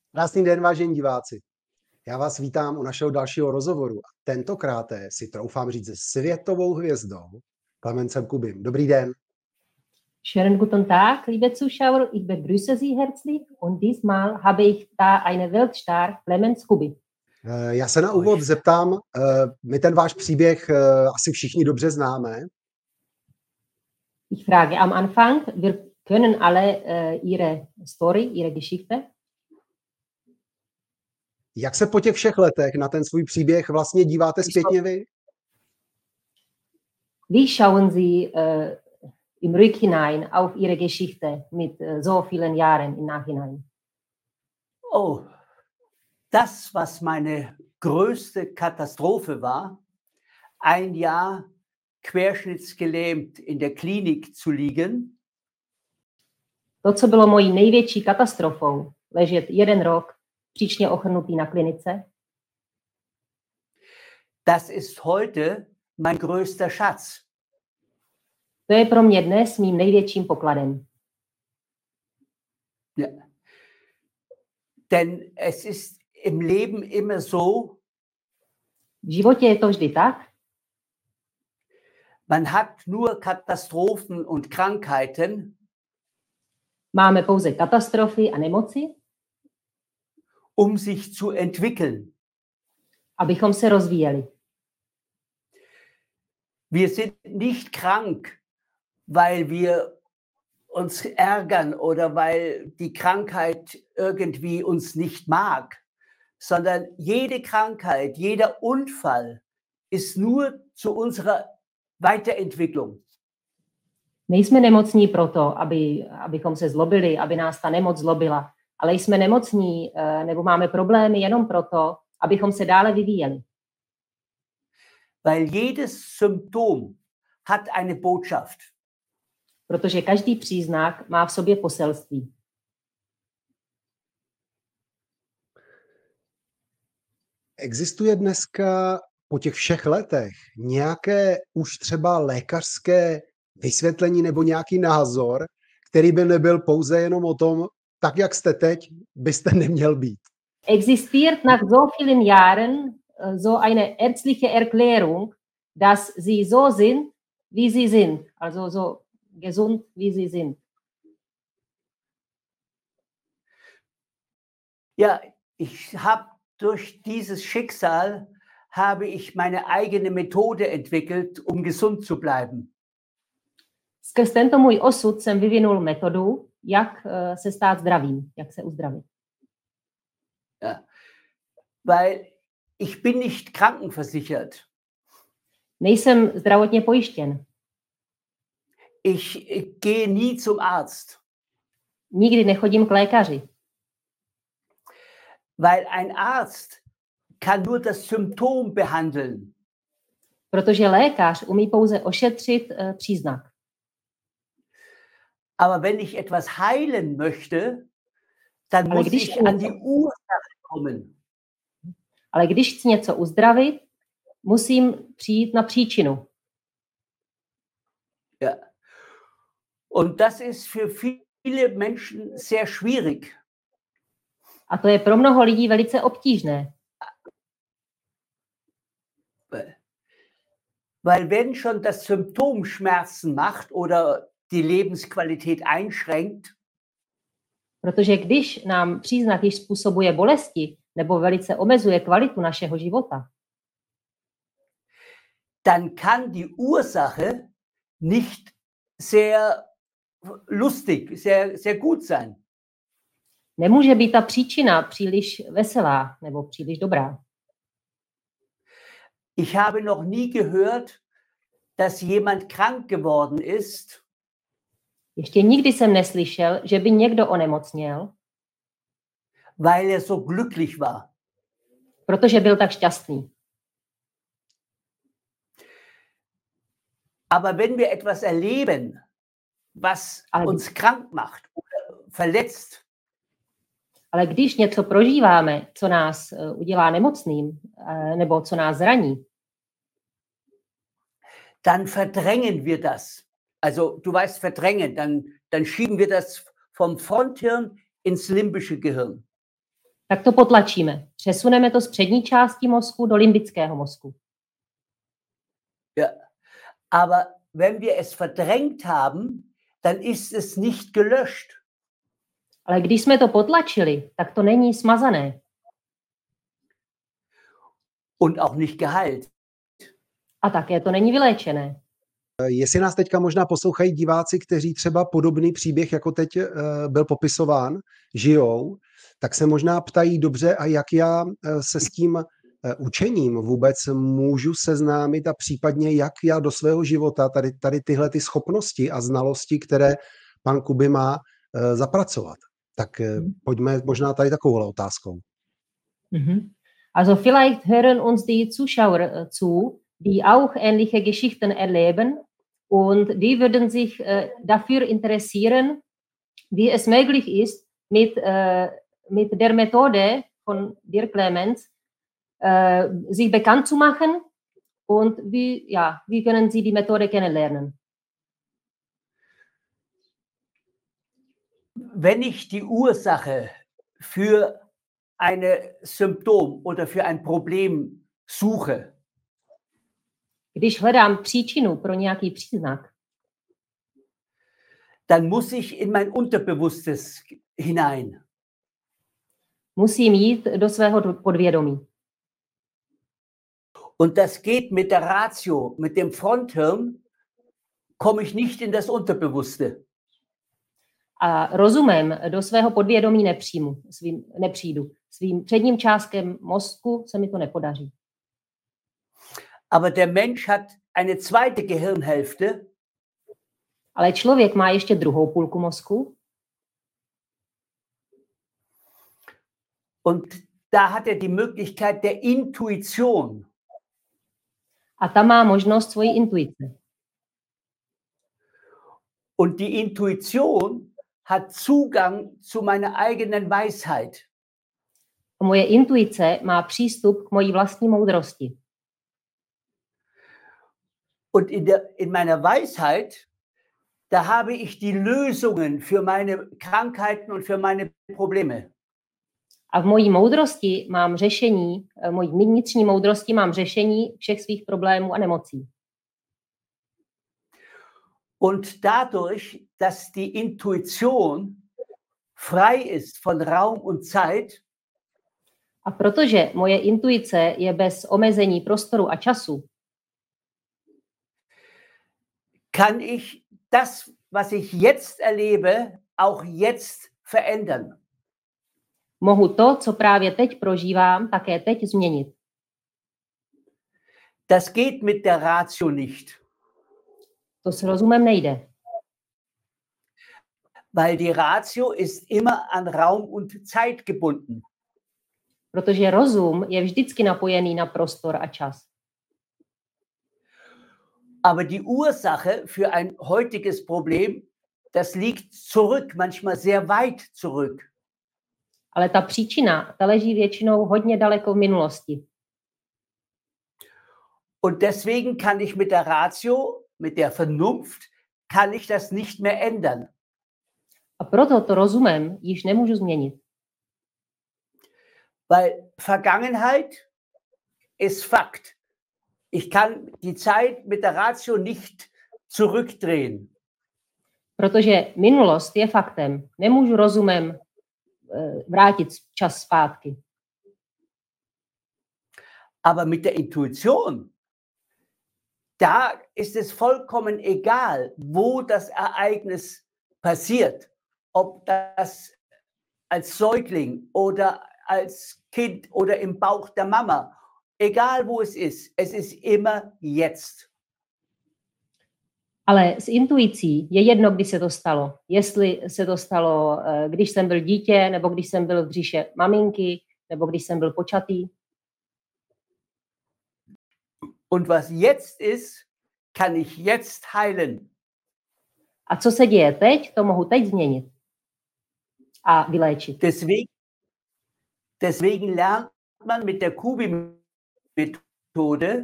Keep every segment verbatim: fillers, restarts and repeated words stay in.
Krásný den, vážení diváci. Já vás vítám u našeho dalšího rozhovoru. A tentokráte si troufám říct se světovou hvězdou Klemencem Kubim. Dobrý den. Schönen guten Tag, liebe Zuschauer. Ich begrüße Sie herzlich und diesmal habe ich da eine Weltstar, Clemens Kubi. Já se na úvod zeptám, my ten váš příběh asi všichni dobře známe. Ich frage am Anfang, wir können alle uh, Ihre Story, Ihre Geschichte. Jak se po těch všech letech na ten svůj příběh vlastně díváte zpětně vy? Wie schauen Sie uh, im Rückhinein auf Ihre Geschichte mit uh, so vielen Jahren im Nachhinein? Oh, das, was meine größte Katastrophe war, ein Jahr querschnittsgelähmt in der Klinik zu liegen. To, co bylo mojí největší katastrofou, ležet jeden rok příčně ochrnutý na klinice. Das ist heute mein größter Schatz. To je pro mě dnes mým největším pokladem. Ja. Denn es ist im Leben immer so, v životě je to vždy tak, man hat nur Katastrophen und Krankheiten, máme pouze katastrofy a nemoci, um sich zu entwickeln. Abychom se rozvíjeli. Wir sind nicht krank, weil wir uns ärgern oder weil die Krankheit irgendwie uns nicht mag, sondern jede Krankheit, jeder Unfall ist nur zu unserer Weiterentwicklung. Nejsme nemocní proto, aby, abychom se zlobili, aby nás ta nemoc zlobila, ale jsme nemocní nebo máme problémy jenom proto, abychom se dále vyvíjeli. Weil jedes Symptom hat eine Botschaft. Protože každý příznak má v sobě poselství. Existuje dneska po těch všech letech nějaké už třeba lékařské vysvětlení nebo nějaký názor, který by nebyl pouze jenom o tom, tak jak jste teď, byste neměl být? Existiert nach so vielen Jahren so eine ärztliche Erklärung, dass sie so sind, wie sie sind, also so gesund, wie sie sind. Ja, ich habe durch dieses Schicksal habe ich meine eigene Methode entwickelt, um gesund zu bleiben. Skrz tento můj osud jsem vyvinul metodu, jak uh, se stát zdravým, jak se uzdravit. Ja, weil ich bin nicht krankenversichert. Nejsem zdravotně pojištěn. Ich, ich gehe nie zum Arzt. Nikdy nechodím k lékaři. Weil ein Arzt kann nur das Symptom behandeln. Protože lékař umí pouze ošetřit uh, příznak. Aber wenn ich etwas heilen möchte, dann Ale muss když ich an die Ursache kommen. Ale když chci něco uzdravit, musím přijít na příčinu. Ja. Und das ist für viele Menschen sehr schwierig. A to je pro mnoho lidí velice obtížné. Weil wenn schon das Symptom Schmerzen macht oder die Lebensqualität einschränkt, protože když nám příznak již způsobuje bolesti nebo velice omezuje kvalitu našeho života, dann kann die Ursache nicht sehr lustig, sehr, sehr gut sein. Nemůže být ta příčina příliš veselá nebo příliš dobrá. Ich habe noch nie gehört, dass jemand krank geworden ist, Ještě nikdy jsem neslyšel, že by někdo onemocněl, weil er so glücklich war. protože byl tak šťastný. Aber wenn wir etwas erleben, was Ale, uns krank macht oder verletzt, ale když něco prožíváme, co nás uh, udělá nemocným, uh, nebo co nás zraní, dann verdrängen wir das. Also du weißt verdrängen, dann, dann schieben wir das vom Fronthirn ins limbische Gehirn. tak to potlačíme. Přesuneme to z přední části mozku do limbického mozku. Ja. Aber wenn wir es verdrängt haben, dann ist es nicht gelöscht. Ale když jsme to potlačili, tak to není smazané. Und auch nicht geheilt. A také to není vyléčené. Jestli nás teďka možná poslouchají diváci, kteří třeba podobný příběh, jako teď byl popisován, žijou, tak se možná ptají, dobře, a jak já se s tím učením vůbec můžu seznámit a případně jak já do svého života tady, tady tyhle ty schopnosti a znalosti, které pan Kuby má, zapracovat. Tak pojďme možná tady takovou otázkou. Mhm. Also vielleicht hören uns die Zuschauer zu, die auch ähnliche Geschichten erleben und die würden sich äh, dafür interessieren, wie es möglich ist, mit, äh, mit der Methode von Dirk Clemens äh, sich bekannt zu machen und wie, ja, wie können sie die Methode kennenlernen. Wenn ich die Ursache für ein Symptom oder für ein Problem suche, když hledám příčinu pro nějaký příznak, dann muss ich in mein Unterbewusstes hinein. musím jít do svého podvědomí. Und das geht mit der Ratio, mit dem Fronthirn, komme ich nicht in das Unterbewusste. A rozumem do svého podvědomí nepřijmu, svým, nepřijdu. Svým předním částkem mozku se mi to nepodaří. Aber der Mensch hat eine zweite Gehirnhälfte. Ale člověk má ještě druhou půlku mozku. Und da hat er die Möglichkeit der Intuition. A ta má možnost svojí intuice. Und die Intuition hat Zugang zu meiner eigenen Weisheit. A moje intuice má přístup k mojí vlastní moudrosti. Und in, der, in meiner Weisheit, da habe ich die Lösungen für meine Krankheiten und für meine Probleme. A v mojí moudrosti mám řešení, v mojí vnitřní moudrosti mám řešení všech svých problémů a nemocí. Und dadurch, dass die Intuition frei ist von Raum und Zeit, a protože moje intuice je bez omezení prostoru a času, kann ich das, was ich jetzt erlebe, auch jetzt verändern. Mohu to, co právě teď prožívám, také teď změnit. Das geht mit der Ratio nicht. To s rozumem nejde. Weil die Ratio ist immer an Raum und Zeit gebunden. Protože rozum je vždycky napojený na prostor a čas. Aber die Ursache für ein heutiges Problem, das liegt zurück, manchmal sehr weit zurück. Ale ta příčina, ta leží většinou hodně daleko v minulosti. Und deswegen kann ich mit der Ratio, mit der Vernunft, kann ich das nicht mehr ändern. A proto to rozumem již nemůžu změnit. Weil Vergangenheit ist Fakt. Ich kann die Zeit mit der Ratio nicht zurückdrehen. Protože minulost je faktem. Nemůžu rozumem vrátit čas zpátky. Aber mit der Intuition, da ist es vollkommen egal, wo das Ereignis passiert. Ob das als Säugling oder als Kind oder im Bauch der Mama. Egal wo es ist, es ist immer jetzt. Ale s intuicí je jedno, kdy se to stalo. Jestli se to stalo, když jsem byl dítě, nebo když jsem byl v břiše maminky, nebo když jsem byl počatý. Und was jetzt ist, kann ich jetzt heilen. A co se děje teď, to mohu teď změnit a vyléčit. Deswegen, deswegen lernt man mit der Kubi-Methode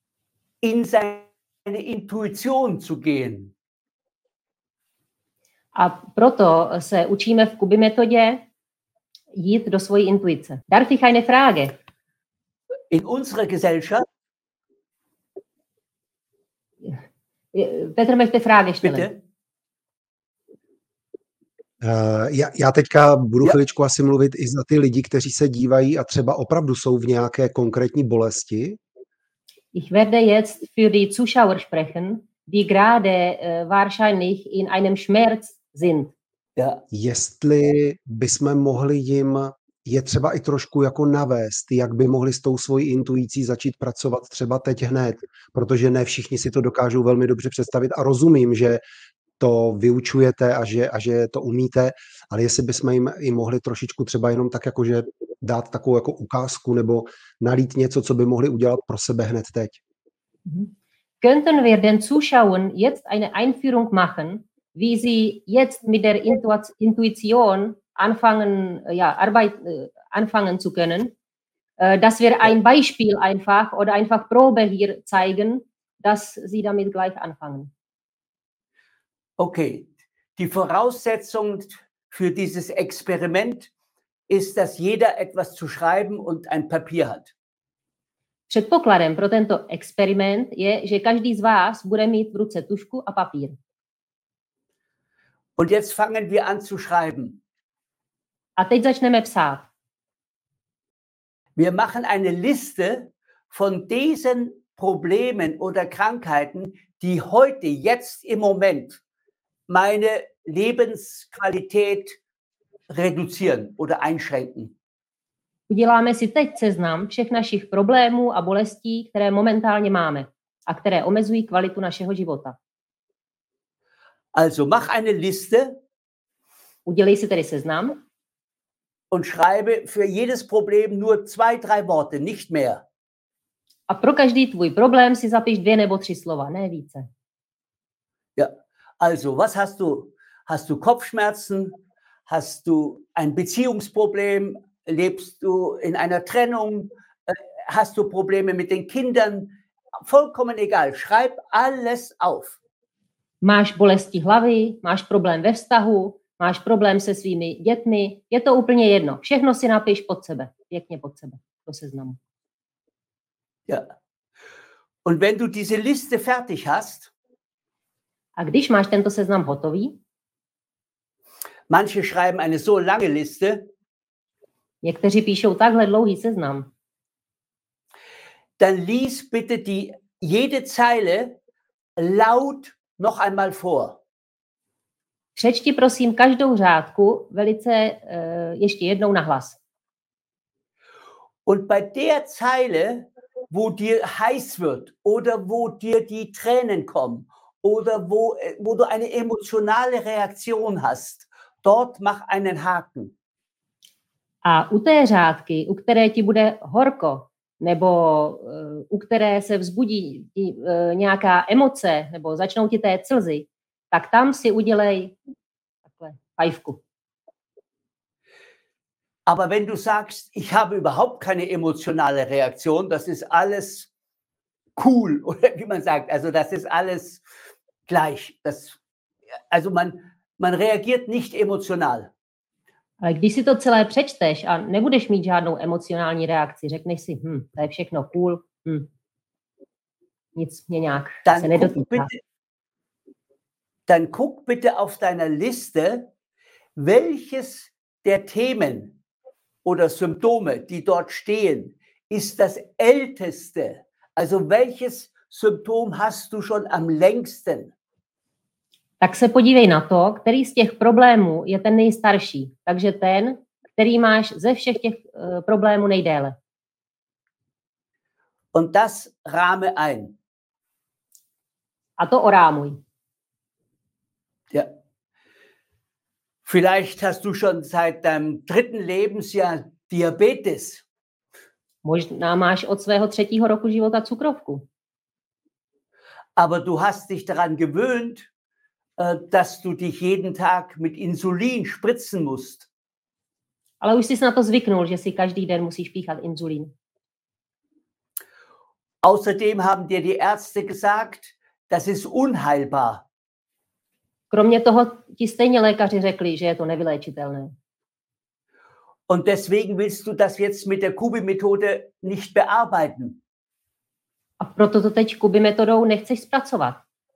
in seine Intuition zu gehen. A proto se učíme v Kubi metodě jít do svojí intuice. Darf ich eine Frage? In unserer Gesellschaft, Petr möchte Frage stellen. bitte, Uh, já, já teďka budu Ja. chviličku asi mluvit i za ty lidi, kteří se dívají a třeba opravdu jsou v nějaké konkrétní bolesti. Ich werde jetzt für die Zuschauer sprechen, die gerade äh, wahrscheinlich in einem Schmerz sind. ja, Jestli bychom mohli jim je třeba i trošku jako navést, jak by mohli s tou svojí intuicí začít pracovat třeba teď hned, protože ne všichni si to dokážou velmi dobře představit a rozumím, že to vyučujete a že, a že to umíte, ale jestli bychom jim i mohli trošičku třeba jenom tak jakože dát takovou jako ukázku nebo nalít něco, co by mohli udělat pro sebe hned teď. Könnten wir den Zuschauern jetzt eine Einführung machen, wie sie jetzt mit der Intu- Intuition anfangen, ja, Arbeit äh, anfangen zu können, äh, dass wir ein Beispiel einfach oder einfach Probe hier zeigen, dass sie damit gleich anfangen. okay. Die Voraussetzung für dieses Experiment ist, dass jeder etwas zu schreiben und ein Papier hat. Předpokladem pro tento experiment je, že každý z vás bude mít v ruce tužku a papír. Und jetzt fangen wir an zu schreiben. A teď začneme psát. Wir machen eine Liste von diesen Problemen oder Krankheiten, die heute, jetzt im Moment, meine Lebensqualität reduzieren oder einschränken. Uděláme si teď seznam všech našich problémů a bolestí, které momentálně máme a které omezují kvalitu našeho života. Also mach eine Liste Udělej si tedy seznam und schreibe für jedes Problem nur zwei, drei Worte, nicht mehr. a pro každý tvůj problém si zapiš dvě nebo tři slova, ne více. Ja, also was hast du? Hast du Kopfschmerzen? Hast du ein Beziehungsproblem? Lebst du in einer Trennung? Äh, Hast du Probleme mit den Kindern? Vollkommen egal. Schreib alles auf. Máš bolesti hlavy, máš problém ve vztahu, máš problém se svými dětmi, je to úplně jedno. Všechno si napiš pod sebe, pěkně pod sebe, do seznamu. Ja. Und wenn du diese Liste fertig hast, A když máš tento seznam hotový, manche schreiben eine so lange Liste, někteří píšou takhle dlouhý seznam, dann lies bitte die, jede Zeile laut noch einmal vor. přečti prosím každou řádku velice uh, ještě jednou nahlas. Und bei der Zeile, wo dir heiß wird oder wo dir die Tränen kommen oder wo, wo du eine emotionale Reaktion hast, dort mach einen Haken. A u té řádky, u které ti bude horko, nebo uh, u které se vzbudí ti, uh, nějaká emoce, nebo začnou ti té slzy, tak tam si udělej takhle fajfku. Aber wenn du sagst, ich habe überhaupt keine emotionale Reaktion, das ist alles cool, oder wie man sagt, also das ist alles gleich. Das, also man, man reagiert nicht emotional. Ale když si to celé přečteš a nebudeš mít žádnou emocionální reakci, řekneš si, hm, to je všechno cool, hm, nic mě nějak Dann se guck, nedotýká. bitte, dann guck bitte auf deiner Liste, welches der Themen oder Symptome, die dort stehen, ist das älteste. Also welches Symptom hast du schon am längsten? Tak se podívej na to, který z těch problémů je ten nejstarší. Takže ten, který máš ze všech těch uh, problémů nejdéle. Und das rahme ein. A to orámuj. Ja. Vielleicht hast du schon seit deinem dritten Lebensjahr Diabetes. Možná máš od svého třetího roku života cukrovku. Aber du hast dich daran gewöhnt, dass du dich jeden Tag mit Insulin spritzen musst. Ale už jsi na to zvyknul, že si každý den musíš píchat inzulín. Außerdem haben dir die Ärzte gesagt, das ist unheilbar. Kromě toho ti stejně lékaři řekli, že je to nevyléčitelné. Und deswegen willst du das jetzt mit der Kubi-Methode nicht bearbeiten. A proto to teď Kubi metodou nechceš zpracovat.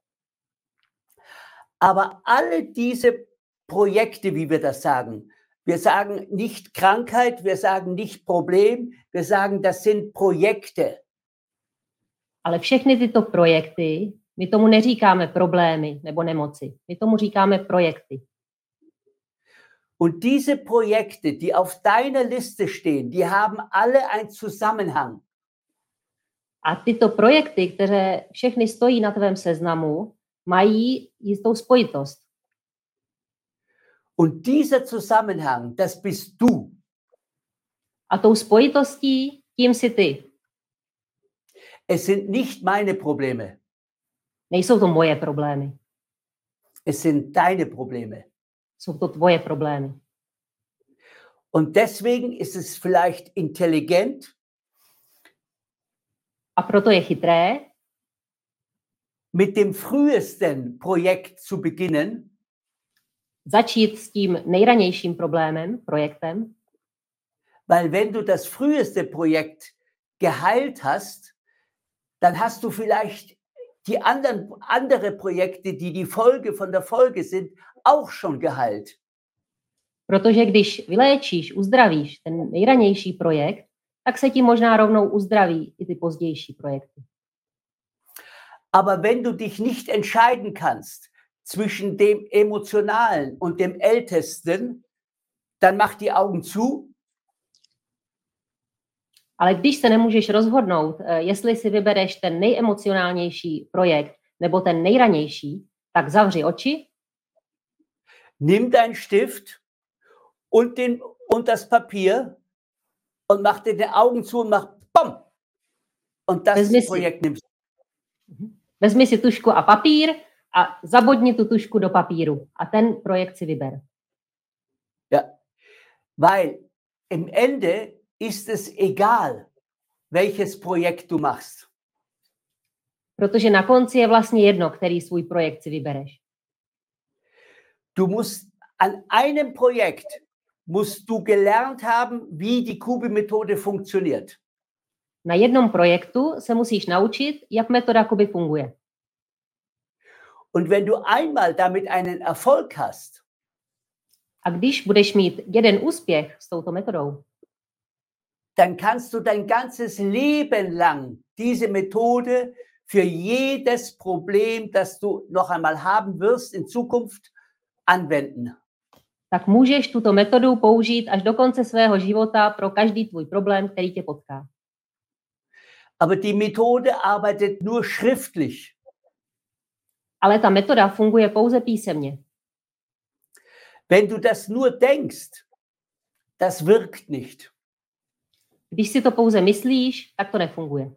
Aber alle diese Projekte, wie wir das sagen, wir sagen nicht Krankheit, wir sagen nicht Problem, wir sagen, das sind Projekte. Ale všechny tyto projekty, my tomu neříkáme problémy nebo nemoci, my tomu říkáme projekty. Und diese Projekte, die auf deiner Liste stehen, die haben alle einen Zusammenhang. A tyto projekty, které všechny stojí na tvém seznamu, mají jistou spojitost. Und dieser Zusammenhang, das bist du. A tou spojitostí, tím jsi ty. Es sind nicht meine Probleme. Nejsou to moje problémy. Es sind deine Probleme. Jsou to tvoje problémy. Und deswegen ist es vielleicht intelligent, a proto je chytré mit dem frühesten Projekt zu beginnen, začít s tím nejranějším problémem, projektem, weil wenn du das früheste Projekt geheilt hast, dann hast du vielleicht die anderen andere Projekte, die die Folge von der Folge sind, auch schon geheilt. Protože když vyléčíš, uzdravíš ten nejranější projekt, tak se ti možná rovnou uzdraví i ty pozdější projekty. Aber wenn du dich nicht entscheiden kannst zwischen dem Emotionalen und dem Ältesten, dann mach die Augen zu. Ale když se nemůžeš rozhodnout, jestli si vybereš ten nejemocionálnější projekt nebo ten nejranější, tak zavři oči. Nimm deinen Stift und, den, und das Papier und mach dir die Augen zu und mach BAM! Und das Vezmi Projekt si, nimmst du. Vezmi si tužku a papír a zabodni tu tužku do papíru a ten projekt si vyber. Ja, weil im Ende ist es egal, welches Projekt du machst. Protože na konci je vlastně jedno, který svůj projekt si vybereš. Du musst an einem Projekt musst du gelernt haben, wie die Kubi-Methode funktioniert. Na jednom projektu se musíš naučit, jak metoda Kubi funguje. Und wenn du einmal damit einen Erfolg hast, a když budeš mít jeden úspěch s touto metodou, dann kannst du dein ganzes Leben lang diese Methode für jedes Problem, das du noch einmal haben wirst in Zukunft, anwenden. tak můžeš tuto metodu použít až do konce svého života pro každý tvůj problém, který tě potká. Aber die Methode arbeitet nur schriftlich. Ale ta metoda funguje pouze písemně. Wenn du das nur denkst, das wirkt nicht. Když si to pouze myslíš, tak to nefunguje.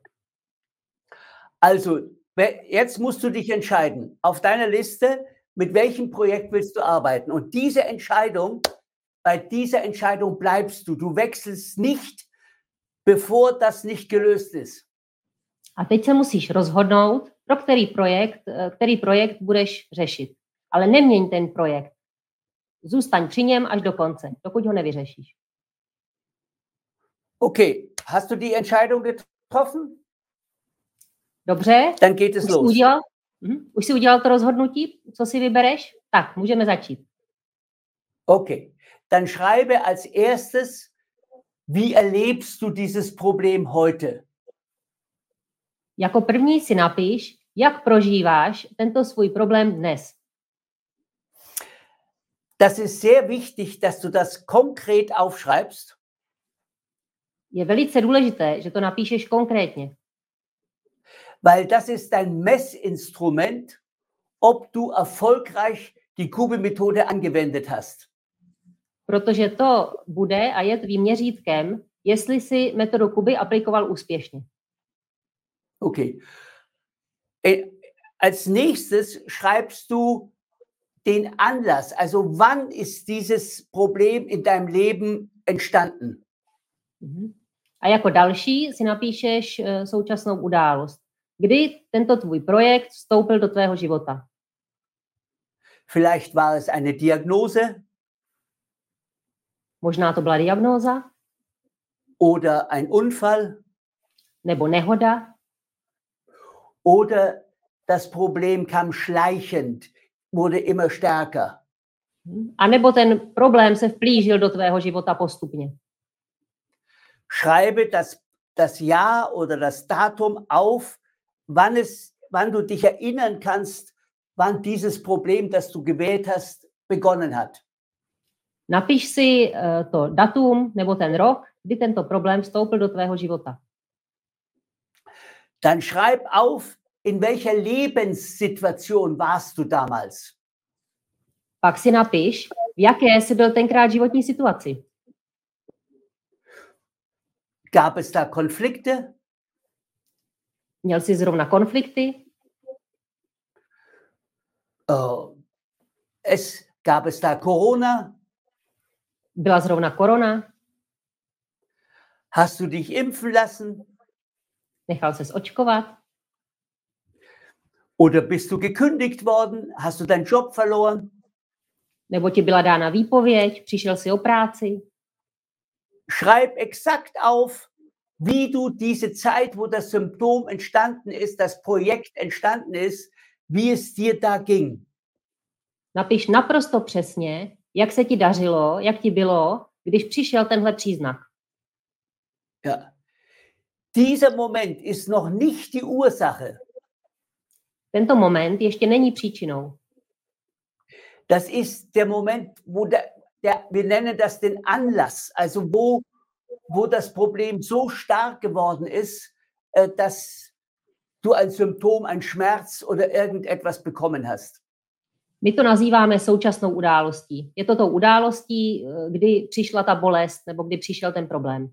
Also, jetzt musst du dich entscheiden, auf deiner Liste, mit welchem Projekt willst du arbeiten. Und diese Entscheidung, bei dieser Entscheidung bleibst du. Du wechselst nicht, bevor das nicht gelöst ist. A teď se musíš rozhodnout, pro který projekt, který projekt budeš řešit. Ale neměň ten projekt. Zůstaň při něm až do konce, dokud ho nevyřešíš. Okay, hast du die Entscheidung getroffen? Dobře. Dann geht es už los. Jsi udělal, uh-huh. Už jsi udělal to rozhodnutí, co si vybereš? Tak, můžeme začít. Okay, dann schreibe als erstes, wie erlebst du dieses Problem heute? Jako první si napiš, jak prožíváš tento svůj problém dnes. Das ist sehr wichtig, dass du das konkret aufschreibst. Je velice důležité, že to napíšeš konkrétně. Weil das ist dein Messinstrument, ob du erfolgreich die Kubi-Methode angewendet hast. Protože to bude a je tvým měřítkem, jestli si metodu Kubi aplikoval úspěšně. Okay. Als nächstes schreibst du den Anlass, also wann ist dieses Problem in deinem Leben entstanden? A jako další si napíšeš současnou událost. Kdy tento tvůj projekt vstoupil do tvého života? Vielleicht war es eine Diagnose. Možná to byla diagnóza, Oder ein Unfall. nebo nehoda, Oder das Problem kam schleichend, wurde immer stärker. a nebo ten problém se vplížil do tvého života postupně. Schreibe das, das Jahr oder das Datum auf, wann, es, wann du dich erinnern kannst, wann dieses Problem, das du gewählt hast, begonnen hat. Napiš si uh, to datum nebo ten rok, kdy tento problém vstoupil do tvého života. Dann schreib auf, in welcher Lebenssituation warst du damals. Pak si napiš, v jaké jsi byl tenkrát životní situaci. Gab es da Konflikte? Měl jsi zrovna konflikty? Uh, es, gab es da Corona? Byla zrovna korona? Hast du dich impfen lassen? Nechal ses očkovat? Oder bist du gekündigt worden? Hast du deinen Job verloren? Nebo ti byla dána výpověď? Přišel jsi o práci? Schreib exakt auf, wie du diese Zeit, wo das Symptom entstanden ist, das Projekt entstanden ist, wie es dir da ging. Napiš naprosto přesně, jak se ti dařilo, jak ti bylo, když přišel tenhle příznak. Ja. Dieser Moment ist noch nicht die Ursache. Tento moment ještě není příčinou. Das ist der Moment, wo der, der, wir nennen das den Anlass, also wo, wo das Problem so stark geworden ist, äh, dass du ein Symptom, ein Schmerz oder irgendetwas bekommen hast. My to nazýváme současnou událostí. Je to tou událostí, kdy přišla ta bolest nebo kdy přišel ten problém.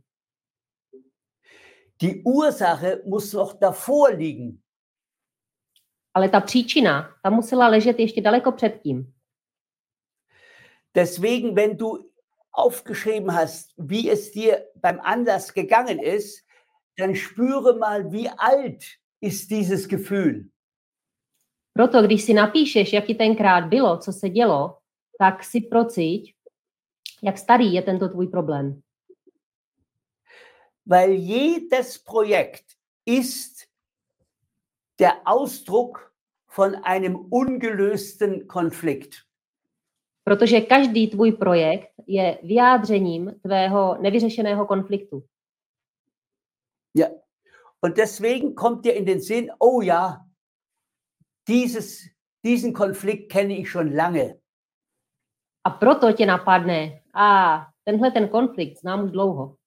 Die Ursache muss noch davor liegen. Ale ta příčina, ta musela ležet ještě daleko předtím. Deswegen, wenn du aufgeschrieben hast, wie es dir beim Anlass gegangen ist, dann spüre mal, wie alt ist dieses Gefühl. Proto, když si napíšeš, jak ti tenkrát bylo, co se dělo, tak si procíť, jak starý je tento tvůj problém. Weil jedes Projekt ist der Ausdruck von einem ungelösten Konflikt. Protože každý tvůj projekt je vyjádřením tvého nevyřešeného konfliktu. Ja. Und deswegen kommt dir in den Sinn, oh ja, dieses, diesen Konflikt kenne ich schon lange. A proto tě napadne, a tenhle ten konflikt znám už dlouho.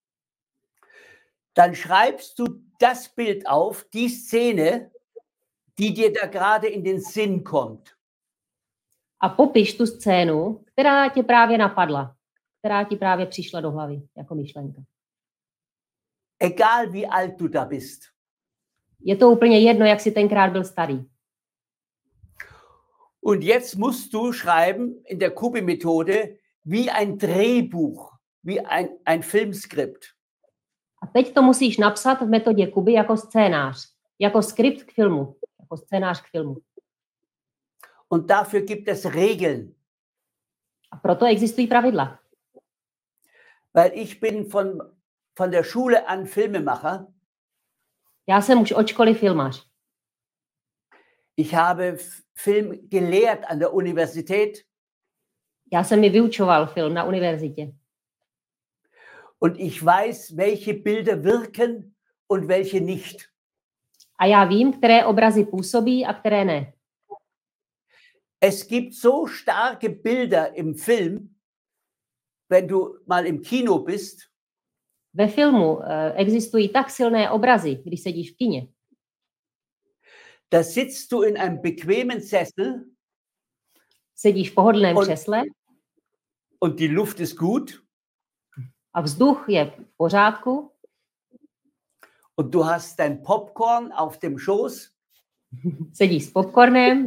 Dann schreibst du das Bild auf, die Szene, die dir da gerade in den Sinn kommt. A popiš tu scénu, která tě právě napadla, která ti právě přišla do hlavy jako myšlenka. Egal wie alt du da bist. Je to úplně jedno, jak jsi tenkrát byl starý. Und jetzt musst du schreiben in der Kubi-Methode wie ein Drehbuch, wie ein, ein Filmskript. A teď to musíš napsat v metodě Kuby jako scénář, jako skript k filmu, jako scénář k filmu. Und dafür gibt es Regeln. A proto existují pravidla. Weil ich bin von, von der Schule an Filmemacher. Já jsem už od školy filmař. Ich habe Film gelehrt an der Universität. Já jsem mi vyučoval film na univerzitě. Und ich weiß, welche Bilder wirken und welche nicht. A já vím, které obrazy působí a které ne. Es gibt so starke Bilder im Film, wenn du mal im Kino bist. Ve filmu uh, existují tak silné obrazy, když sedíš v kině. Da sitzt du in einem bequemen Sessel. Sedíš v pohodlném und, křesle. Und die Luft ist gut. A vzduch je v pořádku. Und du hast dein Popcorn auf dem Schoß. Sedíš s popcornem.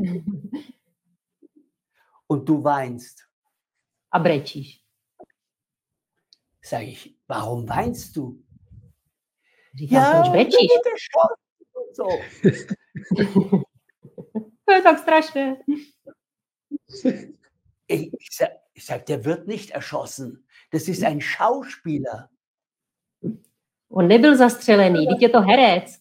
Und du weinst. A brečíš. Sag ich, warum weinst du? Říkám, ja, proč brečíš? So. To je tak strašné. Ich, ich sag, ich sag, der wird nicht erschossen. Das ist ein Schauspieler. On nebyl zastřelený, teď je to herec.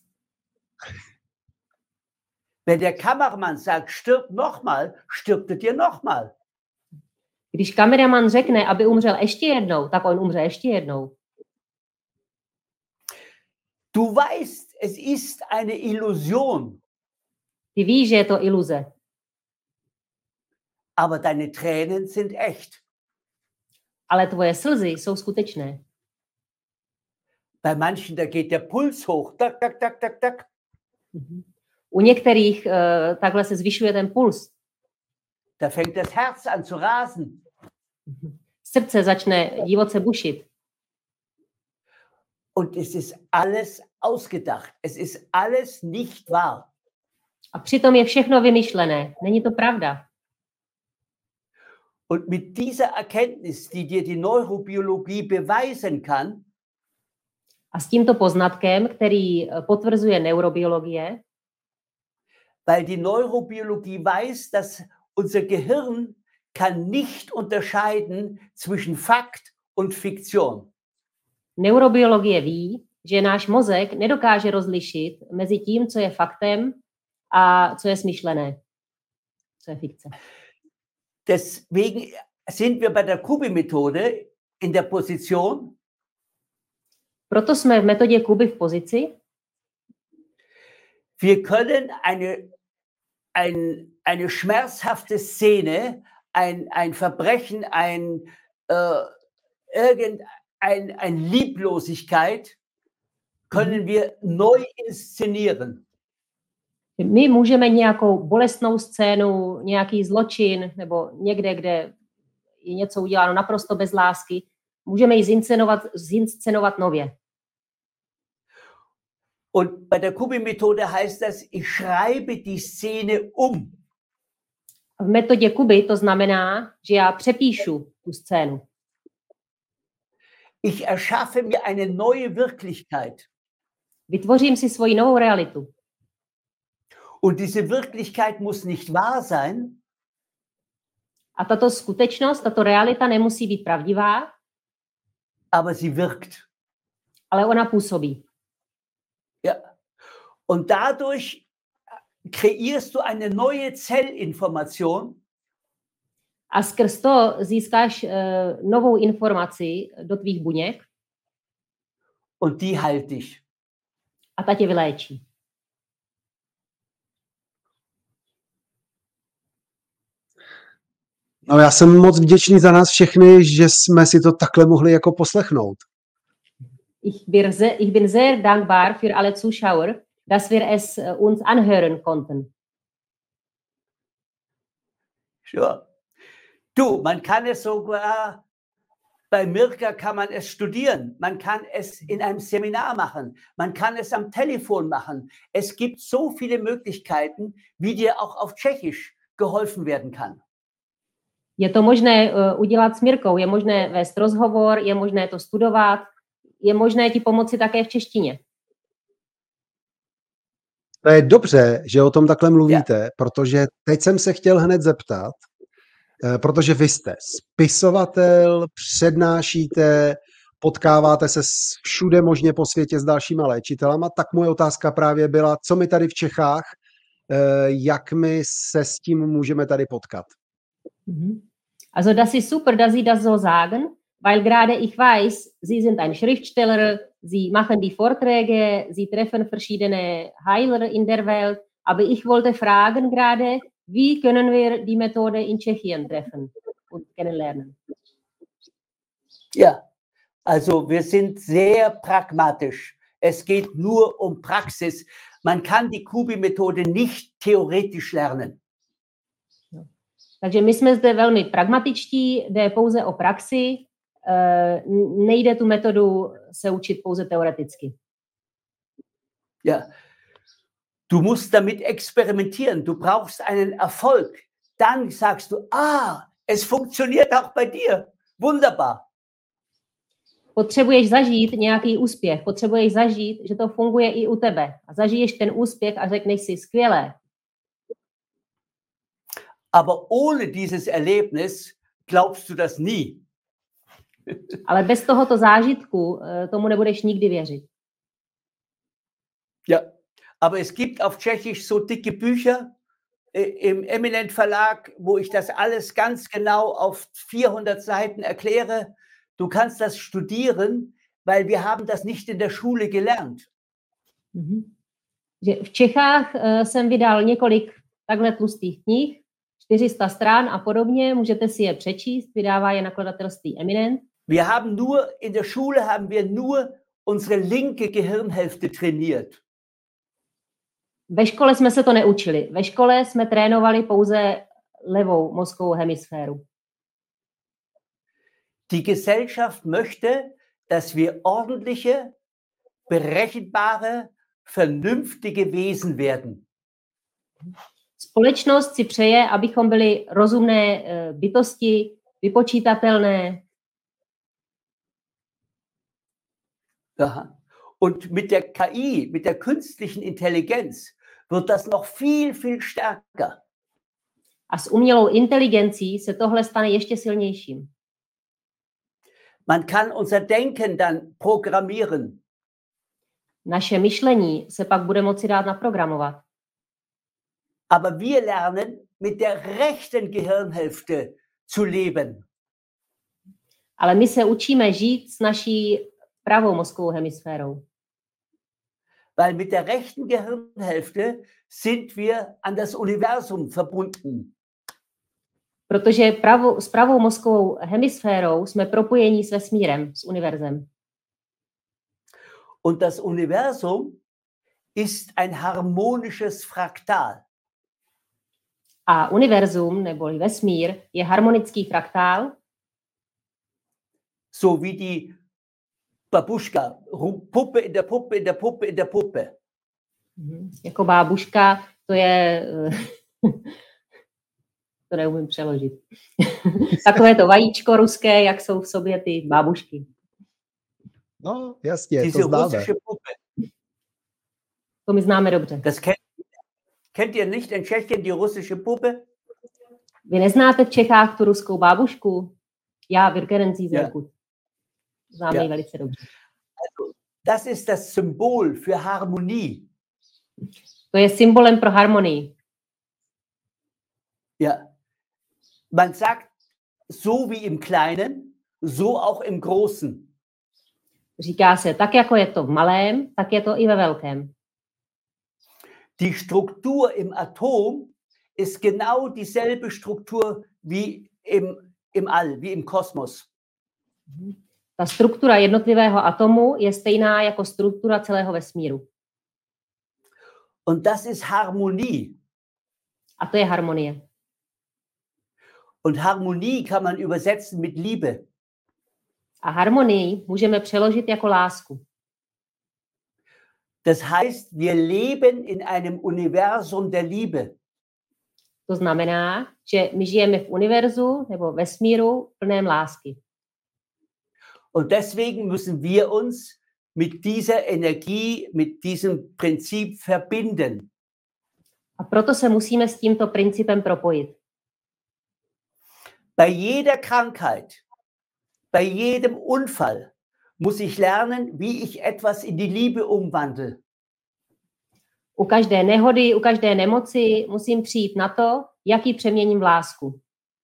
Wenn der Kameramann sagt, stirb nochmal, stirbt er nochmal. Když kameraman řekne, aby umřel ještě jednou, tak on umře ještě jednou. Du weißt, es ist eine Illusion. Ty víš, že je to iluze. Aber deine Tränen sind echt. Ale tvoje slzy jsou skutečné. Bei manchen, da geht der Puls hoch. Tak, tak, tak, tak, tak. U některých uh, takhle se zvyšuje ten puls. Da fängt das Herz an zu rasen. Srdce začne divoce bušit. Und es ist alles ausgedacht. Es ist alles nicht wahr. A přitom je všechno vymyšlené. Není to pravda. Und mit dieser Erkenntnis, die dir die Neurobiologie beweisen kann, a s tímto poznatkem, který potvrzuje neurobiologie, weil die Neurobiologie weiß, dass unser Gehirn kann nicht unterscheiden zwischen Fakt und Fiktion. Neurobiologie ví, že náš mozek nedokáže rozlišit mezi tím, co je faktem a co je smyšlené, co je fikce. Deswegen sind wir bei der Kubi-Methode in der Position. Proto jsme v metodě Kuby v pozici. Wir können eine, ein, eine schmerzhafte Szene, ein, ein Verbrechen, ein, äh, irgendein, ein Lieblosigkeit, können wir neu inszenieren. My můžeme nějakou bolestnou scénu, nějaký zločin, nebo někde, kde je něco uděláno naprosto bez lásky, můžeme ji zinscenovat, zinscenovat nově. Und bei der Kubi-Methode heißt das, ich schreibe die Szene um. V metodě Kuby to znamená, že já přepíšu tu scénu. Ich erschaffe mir eine neue Wirklichkeit. Vytvořím si svoji novou realitu. Und diese Wirklichkeit muss nicht wahr sein. A tato skutečnost, tato realita nemusí být pravdivá, aber sie wirkt. Ale ona působí. Ja. Und dadurch kreierst du eine neue Zellinformation. A skrz to získáš uh, novou informaci do tvých buněk. Und die heilt dich. A ta tě vyléčí. No, já jsem moc vděčný za nás všechny, že jsme si to takhle mohli jako poslechnout. Ich bin sehr, ich bin sehr dankbar für alle Zuschauer, dass wir es uns anhören konnten. Sure. Du, man kann es sogar, bei Mirka kann man es studieren, man kann es in einem Seminar machen, man kann es am Telefon machen. Es gibt so viele Möglichkeiten, wie dir auch auf Tschechisch geholfen werden kann. Je to možné uh, udělat s Mirkou, je možné vést rozhovor, je možné to studovat, je možné ti pomoci také v češtině. To je dobře, že o tom takhle mluvíte, yeah. Protože teď jsem se chtěl hned zeptat, protože vy jste spisovatel, přednášíte, potkáváte se všude možně po světě s dalšíma léčitelama, tak moje otázka právě byla, co my tady v Čechách, jak my se s tím můžeme tady potkat. Also das ist super, dass Sie das so sagen, weil gerade ich weiß, Sie sind ein Schriftsteller, Sie machen die Vorträge, Sie treffen verschiedene Heiler in der Welt, aber ich wollte fragen gerade, wie können wir die Methode in Tschechien treffen und kennenlernen? Ja, also wir sind sehr pragmatisch. Es geht nur um Praxis. Man kann die Kubi-Methode nicht theoretisch lernen. Takže my jsme zde velmi pragmatičtí, jde pouze o praxi, nejde tu metodu se učit pouze teoreticky. Ja, du musst damit experimentieren, du brauchst einen Erfolg. Dann sagst du, ah, es funktioniert auch bei dir. Wunderbar. Potřebuješ zažít nějaký úspěch, potřebuješ zažít, že to funguje i u tebe. A zažiješ ten úspěch a řekneš si, skvělé. Aber ohne dieses Erlebnis glaubst du das nie. Ale bez tohoto zážitku eh, tomu nebudeš nikdy věřit. Ja, aber es gibt auf Tschechisch so dicke Bücher äh, im Eminent Verlag, wo ich das alles ganz genau auf vierhundert Seiten erkläre. Du kannst das studieren, weil wir haben das nicht in der Schule gelernt. Mhm. Že v Čechách eh, jsem vydal několik takhle tlustých knih, čtyři sta stran a podobně, můžete si je přečíst, vydává je nakladatelství Eminent. Wir haben nur, in der Schule haben wir nur unsere linke Gehirnhälfte trainiert. Ve škole jsme se to neučili. Ve škole jsme trénovali pouze levou mozkovou hemisféru. Die Gesellschaft möchte, dass wir ordentliche, berechenbare, vernünftige Wesen werden. Společnost si přeje, abychom byli rozumné eh, bytosti, vypočítatelné. Aha. Und mit der K I, mit der künstlichen Intelligenz, wird das noch viel, viel stärker. A s umělou inteligencí se tohle stane ještě silnějším. Man kann unser Denken dann programmieren. Naše myšlení se pak bude moci dát naprogramovat. Aber wir lernen, mit der rechten Gehirnhälfte zu leben. Ale my se učíme žít s naší pravou mozkovou hemisférou. Weil mit der rechten Gehirnhälfte sind wir an das Universum verbunden. Protože pravou, s pravou mozkovou hemisférou jsme propojení s vesmírem, s univerzem. Und das Universum ist ein harmonisches Fraktal. A univerzum, neboli vesmír, je harmonický fraktál, So wie die Babuschka, Ru- Puppe in der Puppe, in der Puppe, in der Puppe. Mhm. Jako bábuška, to je... to neumím přeložit. Takové to vajíčko ruské, jak jsou v sobě ty bábušky. No, jasně, Diese to známe. russische Puppe. To my známe dobře. Das kennt, kennt ihr nicht in Tschechien, die russische Puppe? Vy neznáte v Čechách tu ruskou bábušku? Já, Virkerencí Ja. Zerkut. Známe Ja. ji velice dobře. Also, das ist das Symbol für Harmonie. To je symbolem pro harmonii. Ja. Man sagt, so wie im Kleinen, so auch im Großen. Říká se, tak jako je to v malém, tak je to i ve velkém. Die Struktur im Atom ist genau dieselbe Struktur wie im, im All, wie im Kosmos. Ta struktura jednotlivého atomu je stejná jako struktura celého vesmíru. Und das ist Harmonie. A to je harmonie. Und Harmonie kann man übersetzen mit Liebe. A harmonii můžeme přeložit jako lásku. Das heißt, wir leben in einem Universum der Liebe. To znamená, že my žijeme v univerzu nebo vesmíru plném lásky. Und deswegen müssen wir uns mit dieser Energie, mit diesem Prinzip verbinden. A proto se musíme s tímto principem propojit. Bei jeder Krankheit, bei jedem Unfall muss ich lernen, wie ich etwas in die Liebe umwandle. U každé nehody, u každé nemoci musím přijít na to, jak ji přeměním v lásku.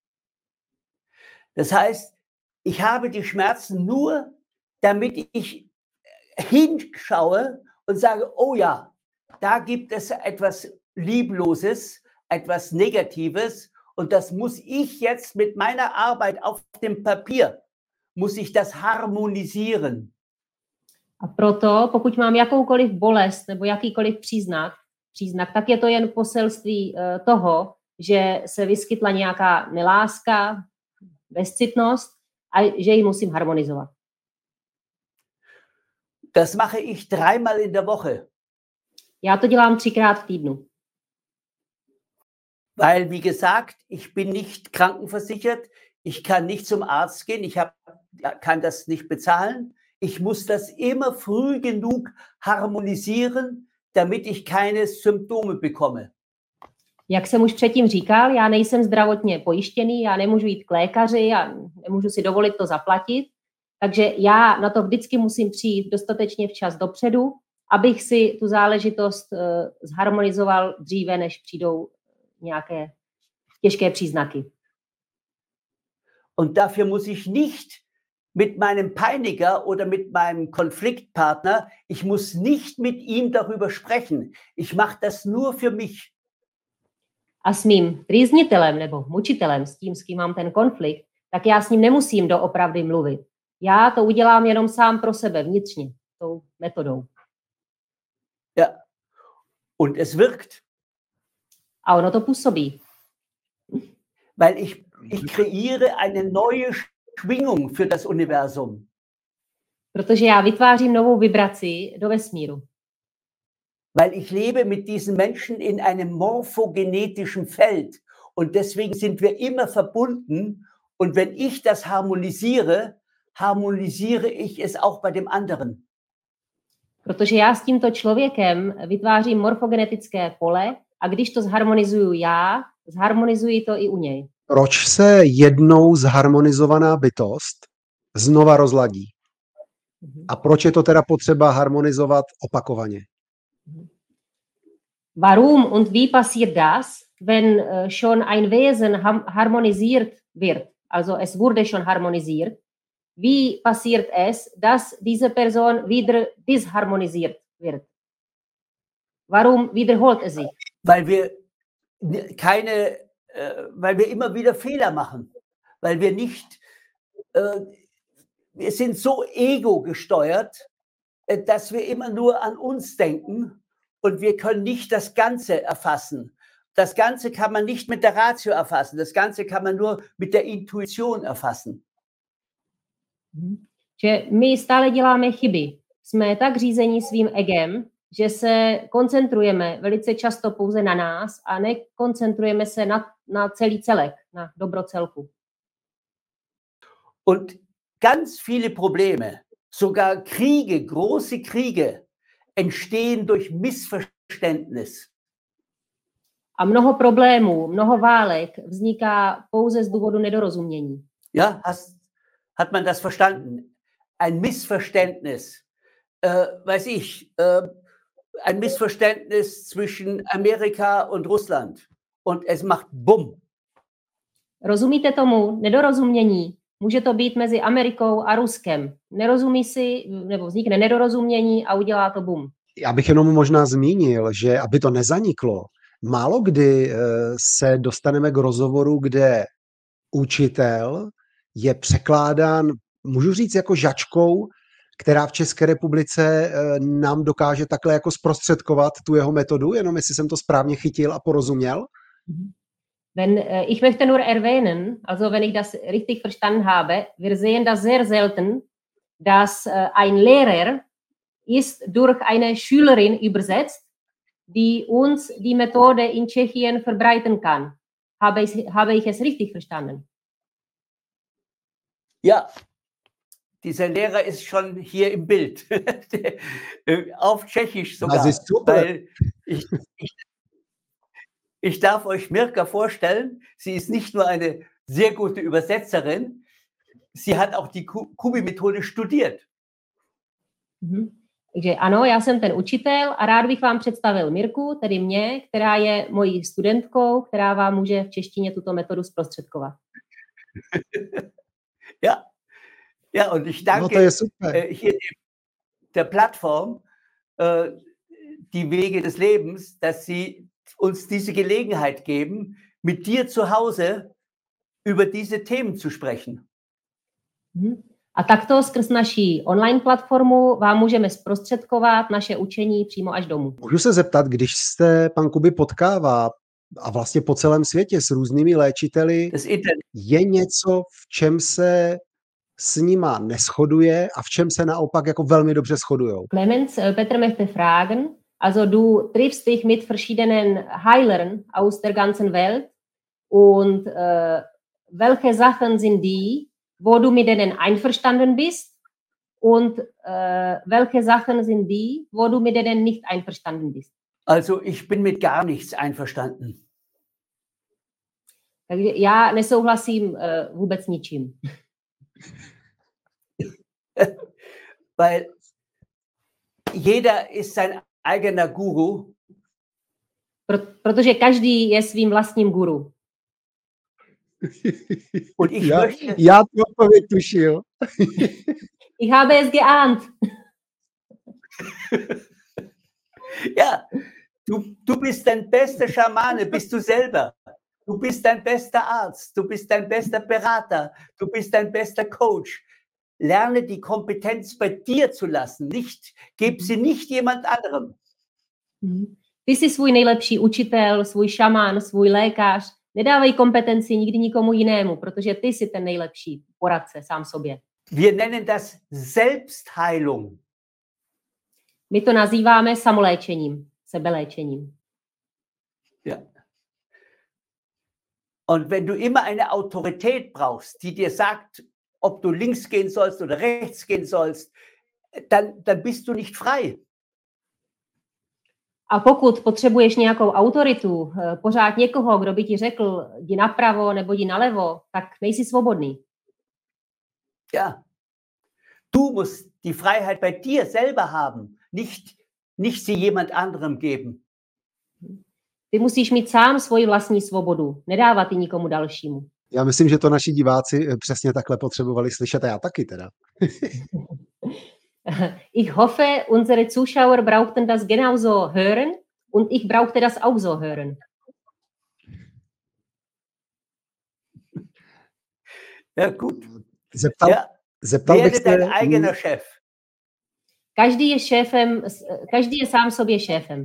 Das heißt, ich habe die Schmerzen nur, damit ich hinschaue und sage, oh ja, da gibt es etwas Liebloses, etwas Negatives und das muss ich jetzt mit meiner Arbeit auf dem Papier, muss ich das harmonisieren. A proto, pokud mám jakoukoliv bolest nebo jakýkoliv příznak, příznak, tak je to jen poselství uh, toho, že se vyskytla nějaká neláska, bezcitnost a že ji musím harmonizovat. Das mache ich dreimal in der Woche. Já to dělám třikrát v týdnu. Weil, wie gesagt, ich bin nicht krankenversichert, ich kann nicht zum Arzt gehen, ich hab, kann das nicht bezahlen. Ich muss das immer früh genug harmonisieren, damit ich keine Symptome bekomme. Jak jsem už předtím říkal, já nejsem zdravotně pojištěný, já nemůžu jít k lékaři, já nemůžu si dovolit to zaplatit, takže já na to vždycky musím přijít dostatečně včas dopředu, abych si tu záležitost uh, zharmonizoval dříve, než přijdou nějaké těžké příznaky. Und dafür muss ich nicht mit meinem Peiniger oder mit meinem Konfliktpartner, ich muss nicht mit ihm darüber sprechen. Ich mache das nur für mich. A s mým trýznitelem nebo mučitelem, s tím, s kým mám ten konflikt, tak já s ním nemusím doopravdy mluvit. Já to udělám jenom sám pro sebe, vnitřně, tou metodou. Ja, und es wirkt. A ono to působí. Weil ich, ich kreiere eine neue Schwingung für das Universum. Protože já vytvářím novou vibraci do vesmíru. Weil ich lebe mit diesen Menschen in einem morphogenetischen Feld und deswegen sind wir immer verbunden und wenn ich das harmonisiere, harmonisiere ich es auch bei dem anderen. Protože já s tímto člověkem vytvářím morfogenetické pole a když to zharmonizuju já, zharmonizuji to i u něj. Proč se jednou zharmonizovaná bytost znova rozladí? A proč je to teda potřeba harmonizovat opakovaně? Warum und wie passiert das, wenn uh, schon ein Wesen harmonisiert wird? Also es wurde schon harmonisiert. Wie passiert es, dass diese Person wieder disharmonisiert wird? Warum wiederholt es sich? Weil wir keine, äh, weil wir immer wieder Fehler machen, weil wir nicht, äh, wir sind so ego gesteuert, äh, dass wir immer nur an uns denken und wir können nicht das Ganze erfassen. Das Ganze kann man nicht mit der Ratio erfassen, das Ganze kann man nur mit der Intuition erfassen. Že my stále děláme chyby. Jsme tak řízení svým egem, že se koncentrujeme velice často pouze na nás a nekoncentrujeme se na, na celý celek, na dobro celku. Und ganz viele Probleme, sogar Kriege, große Kriege, entstehen durch Missverständnis. A mnoho problémů, mnoho válek vzniká pouze z důvodu nedorozumění. Ja, hast, hat man das verstanden? Ein Missverständnis, äh, weiß ich, äh, ein Missverständnis zwischen Amerika und Russland und es macht Bumm. Rozumíte tomu? Nedorozumění. Může to být mezi Amerikou a Ruskem. Nerozumí si, nebo vznikne nedorozumění a udělá to bum. Já bych jenom možná zmínil, že aby to nezaniklo, málo kdy se dostaneme k rozhovoru, kde učitel je překládán, můžu říct, jako žačkou, která v České republice nám dokáže takhle jako zprostředkovat tu jeho metodu, jenom jestli jsem to správně chytil a porozuměl. Wenn äh, ich möchte nur erwähnen, also wenn ich das richtig verstanden habe, wir sehen das sehr selten, dass äh, ein Lehrer ist durch eine Schülerin übersetzt, die uns die Methode in Tschechien verbreiten kann. Habe ich, habe ich es richtig verstanden? Ja, dieser Lehrer ist schon hier im Bild, auf Tschechisch sogar, das ist super. Weil ich, ich Ich darf euch Mirka vorstellen, sie ist nicht nur eine sehr gute Übersetzerin, sie hat auch die Kubi-Methode studiert. Mm-hmm. Takže ano, já jsem ten učitel a rád bych vám představil Mirku, tedy mě, která je mojí studentkou, která vám může v češtině tuto metodu zprostředkovat. Ja, ja, und ich danke no, super. äh, hier der Plattform, äh, die Wege des Lebens, dass sie uns diese Gelegenheit geben, mit dir zu Hause über diese Themen zu sprechen. A takto skrz naší online platformu vám můžeme zprostředkovat naše učení přímo až domů. Můžu se zeptat, když se pan Kubi potkává a vlastně po celém světě s různými léčiteli, je něco, v čem se s nima neshoduje a v čem se naopak jako velmi dobře shodujou? Clemens, Petr möchte fragen, also du triffst dich mit verschiedenen Heilern aus der ganzen Welt und äh, welche Sachen sind die, wo du mit denen einverstanden bist und äh, welche Sachen sind die, wo du mit denen nicht einverstanden bist? Also ich bin mit gar nichts einverstanden. Takže já nesouhlasím uh, vůbec ničím. Weil jeder ist sein eigener Guru. Pro, protože každý je svým vlastním guru. Und ich já, möchte, já tu odpověď tušil. Ich habe es geahnt. ja, du, du bist dein bester Schamane, bist du selber. Du bist dein bester Arzt, du bist dein bester Berater, du bist dein bester Coach. Lerne die Kompetenz bei dir zu lassen, nicht, gib sie nicht jemand anderem. Ty jsi svůj nejlepší učitel, svůj šamán, svůj lékař. Nedávej kompetenci nikdy nikomu jinému, protože ty jsi ten nejlepší poradce sám sobě. Wir nennen das Selbstheilung. My to nazýváme samoléčením, sebeléčením. Ja. Und wenn du immer eine Autorität brauchst, die dir sagt, ob du links gehen sollst oder rechts gehen sollst, dann, dann bist du nicht frei. A pokud potřebuješ nějakou autoritu, pořád někoho, kdo by ti řekl, jdi napravo nebo jdi nalevo, tak nejsi svobodný. Ja. Du musst die Freiheit bei dir selber haben, nicht, nicht sie jemand anderem geben. Ty musíš mít sám svoji vlastní svobodu, nedávat ji nikomu dalšímu. Já myslím, že to naši diváci přesně takhle potřebovali slyšet a já taky teda. Ich hoffe, unsere Zuschauer brauchten das genauso hören und ich brauchte das auch so hören. Ja, gut. Zeptal, Ja, zeptal bych werde se... dein eigener Chef. Každý je šéfem, každý je sám sobě šéfem.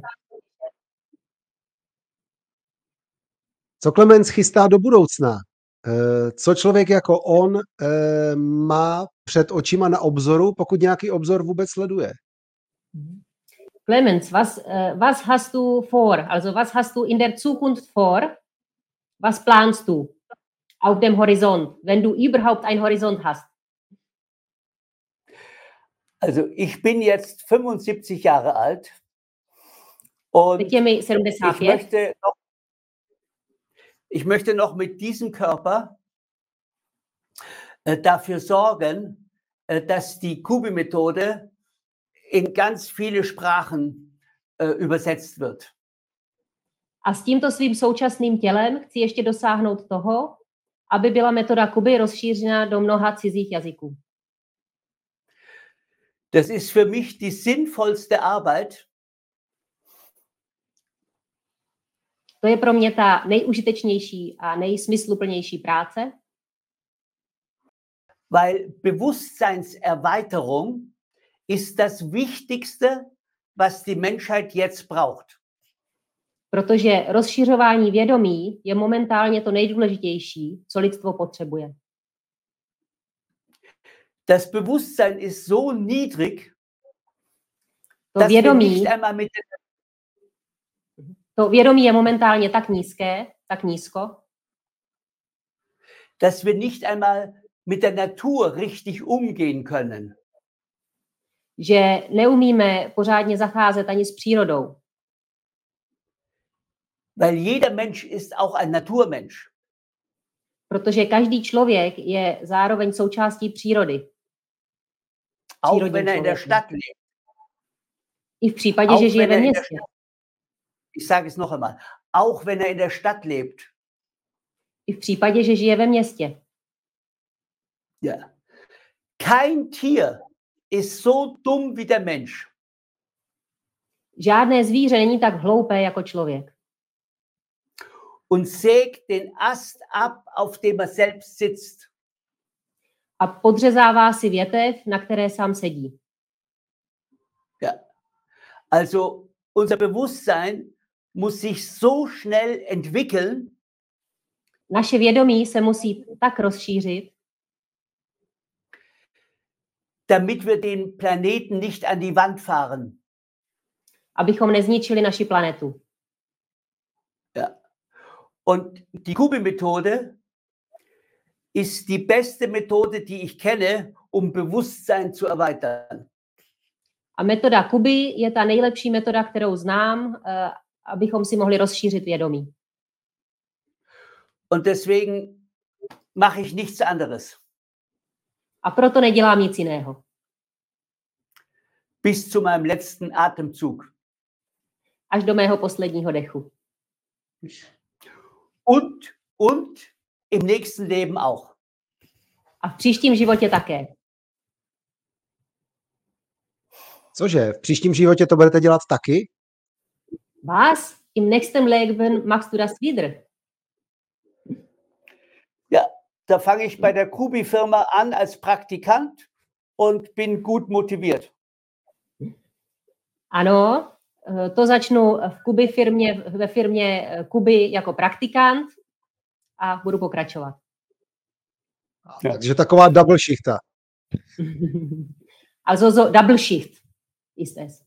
Co Klemens chystá do budoucna? Co člověk jako on má před očima na obzoru, pokud nějaký obzor vůbec sleduje? Clemens, was, was hast du vor? Also was hast du in der Zukunft vor? Was planst du auf dem Horizont, wenn du überhaupt einen Horizont hast? Also ich bin jetzt fünfundsiebzig Jahre alt und ich möchte, noch, ich möchte noch mit diesem Körper äh, dafür sorgen, äh, dass die Kubi-Methode in ganz viele Sprachen äh, übersetzt wird. A s tímto svým současným tělem chci ještě dosáhnout toho, aby byla metoda Kuby rozšířena do mnoha cizích jazyků. Das ist für mich die sinnvollste Arbeit. To je pro mě ta nejužitečnější a nejsmysluplnější práce. Weil Bewusstseinserweiterung ist das Wichtigste, was die Menschheit jetzt braucht. Protože rozšiřování vědomí je momentálně to nejdůležitější, co lidstvo potřebuje. Das Bewusstsein ist so niedrig, to dass vědomí, wir nicht einmal mit to vědomí je momentálně tak nízké, tak nízko, dass wir nicht einmal mit der Natur richtig umgehen können. Že neumíme pořádně zacházet ani s přírodou. Weil jeder Mensch ist auch ein Naturmensch. Protože každý člověk je zároveň součástí přírody. Auch wenn er in der Stadt lebt. I v případě, auch že žije ve městě. Ich sage es noch einmal. Auch wenn er in der Stadt lebt. I v případě, že žije ve městě. Ja. Kein Tier ist so dumm wie der Mensch. Žádné zvíře není tak hloupé jako člověk. Und sägt den Ast ab, auf dem er selbst sitzt. A podřezává si větev, na které sám sedí. Ja. Also unser Bewusstsein muss sich so schnell entwickeln. Naše vědomí se musí tak rozšířit, damit wir den Planeten nicht an die Wand fahren. Abychom nezničili naši planetu. Ja. Und die Kubi-Methode ist die beste Methode, die ich kenne, um Bewusstsein zu erweitern. A metoda Kuby je ta nejlepší metoda, kterou znám, uh, abychom si mohli rozšířit vědomí. Und deswegen mache ich nichts anderes. A proto nedělám nic jiného. Bis zu meinem letzten Atemzug. Až do mého posledního dechu. Und, und im nächsten Leben auch. A v příštím životě také. Cože, v příštím životě to budete dělat taky? Was? Im nächsten Leben machst du das wieder? Ja, da fange ich bei der Kubi-Firma an als Praktikant und bin gut motiviert. Ano, to začnu v Kubi firmě, ve firmě Kubi jako praktikant a budu pokračovat. Ja. Takže taková double shichta. Also so double Schicht ist es.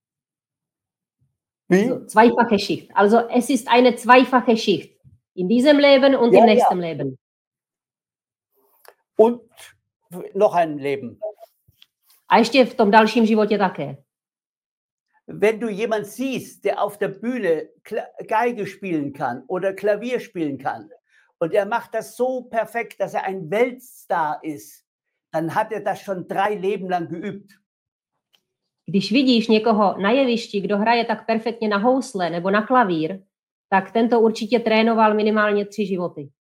Wie? So, zweifache Schicht. Also es ist eine zweifache Schicht. In diesem Leben und Ja, im ja. nächsten Leben. Und noch ein Leben. A ještě v tom dalším životě také. Wenn du jemand siehst, der auf der Bühne Kla- Geige spielen kann oder Klavier spielen kann und er macht das so perfekt, dass er ein Weltstar ist, dann hat er das schon drei Leben lang geübt. Když vidíš někoho na jevišti, kdo hraje tak perfektně na housle nebo na klavír, tak tento určitě trénoval minimálně tři životy.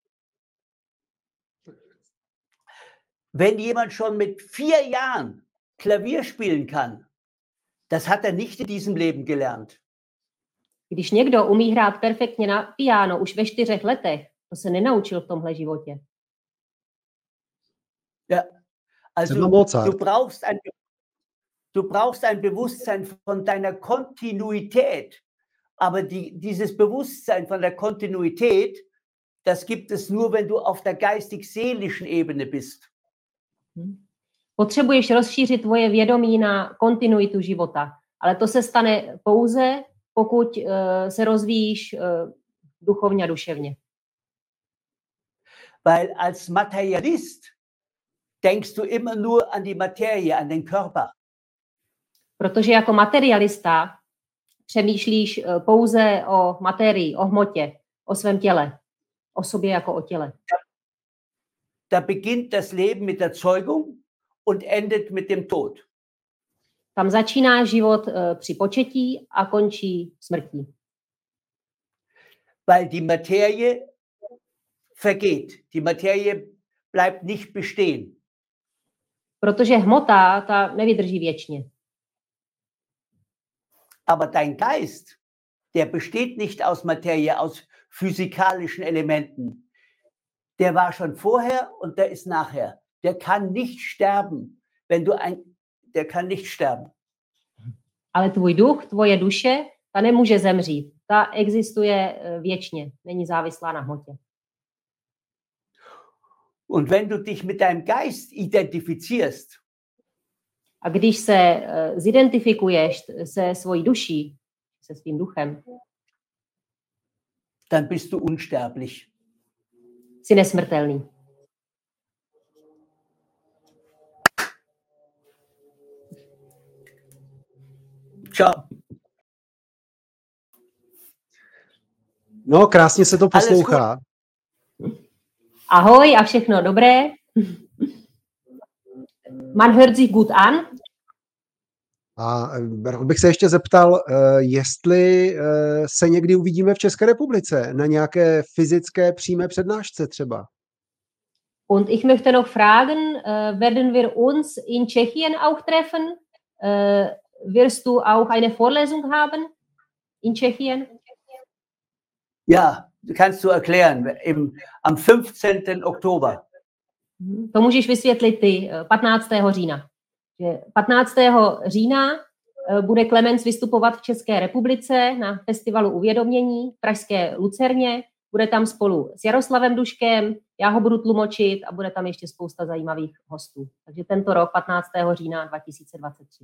Wenn jemand schon mit vier Jahren Klavier spielen kann, das hat er nicht in diesem Leben gelernt. Když někdo umí hrát perfektně na piano už ve čtyřech letech, to se nenaučil v tomhle životě. Ja. Also Sind wir Mozart. du brauchst ein du brauchst ein Bewusstsein von deiner Kontinuität, aber die, dieses Bewusstsein von der Kontinuität, das gibt es nur, wenn du auf der geistig-seelischen Ebene bist. Potřebuješ rozšířit tvoje vědomí na kontinuitu života, ale to se stane pouze, pokud uh, se rozvíjíš uh, duchovně a duševně. Weil als Materialist denkst du immer nur an die Materie, an den Körper. Protože jako materialista přemýšlíš uh, pouze o materii, o hmotě, o svém těle, o sobě jako o těle. Da beginnt das Leben mit der Zeugung und endet mit dem Tod. Tam začíná život uh, při početí a končí smrtí. Weil die Materie vergeht. Die Materie bleibt nicht bestehen. Protože hmota, ta nevydrží věčně. Aber dein Geist, der besteht nicht aus Materie, aus physikalischen Elementen. Der war schon vorher und der ist nachher. Der kann nicht sterben, wenn du ein, der kann nicht sterben. Ale tvůj duch, tvoje duše, ta nemůže zemřít. Ta existuje uh, věčně, není závislá na hmotě. Und wenn du dich mit deinem Geist identifizierst, A když se uh, zidentifikuješ se svojí duší, se svým duchem, dann bist du unsterblich. jsi nesmrtelný. Ciao. No, krásně se to Alles poslouchá. Ahoj a všechno dobré. Man hört sich gut an. A rád bych se ještě zeptal, eh, jestli eh, se někdy uvidíme v České republice na nějaké fyzické přímé přednášce třeba. Und ich möchte noch fragen, äh, werden wir uns in Tschechien auch treffen? Äh, wirst du auch eine Vorlesung haben in Tschechien? Ja, kannst du erklären, im, am fünfzehnten Oktober. To můžeš vysvětlit ty eh, patnáctého října. Že patnáctého října eh, bude Klemens vystupovat v České republice na festivalu Uvědomění v pražské Lucerně. Bude tam spolu s Jaroslavem Duškem, já ho budu tlumočit a bude tam ještě spousta zajímavých hostů. Takže tento rok, patnáctého října dva tisíce dvacet tři.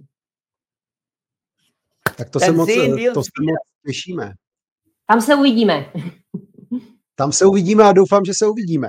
Tak to se Ten moc, sehen wir to uns se moc těšíme. Tam se uvidíme. Tam se uvidíme a doufám, že se uvidíme.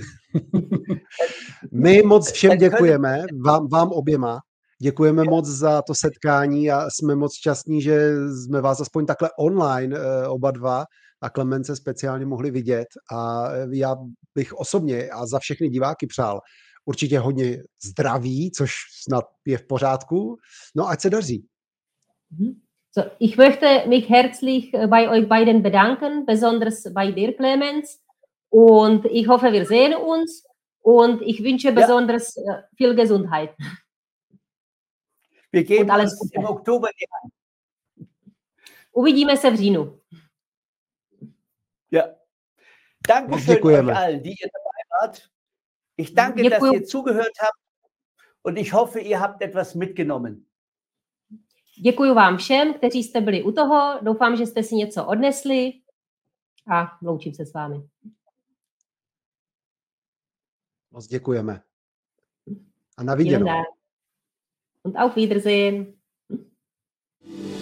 My moc všem děkujeme, vám, vám oběma. Děkujeme moc za to setkání a jsme moc šťastní, že jsme vás aspoň takhle online oba dva a Klemence speciálně mohli vidět. A já bych osobně a za všechny diváky přál určitě hodně zdraví, což snad je v pořádku. No, ať se daří. So, ich möchte mich herzlich bei euch beiden bedanken, besonders bei dir, Clemens. Und ich hoffe, wir sehen uns. Und ich wünsche Ja. besonders äh, viel Gesundheit. Wir geben Und alles uns Gute. im Oktober die Hand. Uvidíme se v říjnu. Ja. Dankeschön Děkujeme. euch allen, die ihr dabei wart. Ich danke, dass Děkuju. ihr zugehört habt und ich hoffe, ihr habt etwas mitgenommen. Děkuji vám všem, kteří jste byli u toho. Doufám, že jste si něco odnesli a loučím se s vámi. Moc děkujeme. A na Vielen viděnou. Dank. Und auf Wiedersehen.